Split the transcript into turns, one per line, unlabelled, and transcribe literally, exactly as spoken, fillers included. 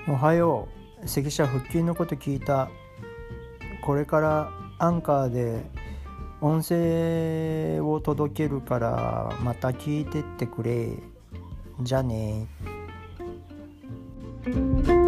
おはよう。関社復旧のこと聞いた。これからアンカーで音声を届けるからまた聞いてってくれ。じゃあね。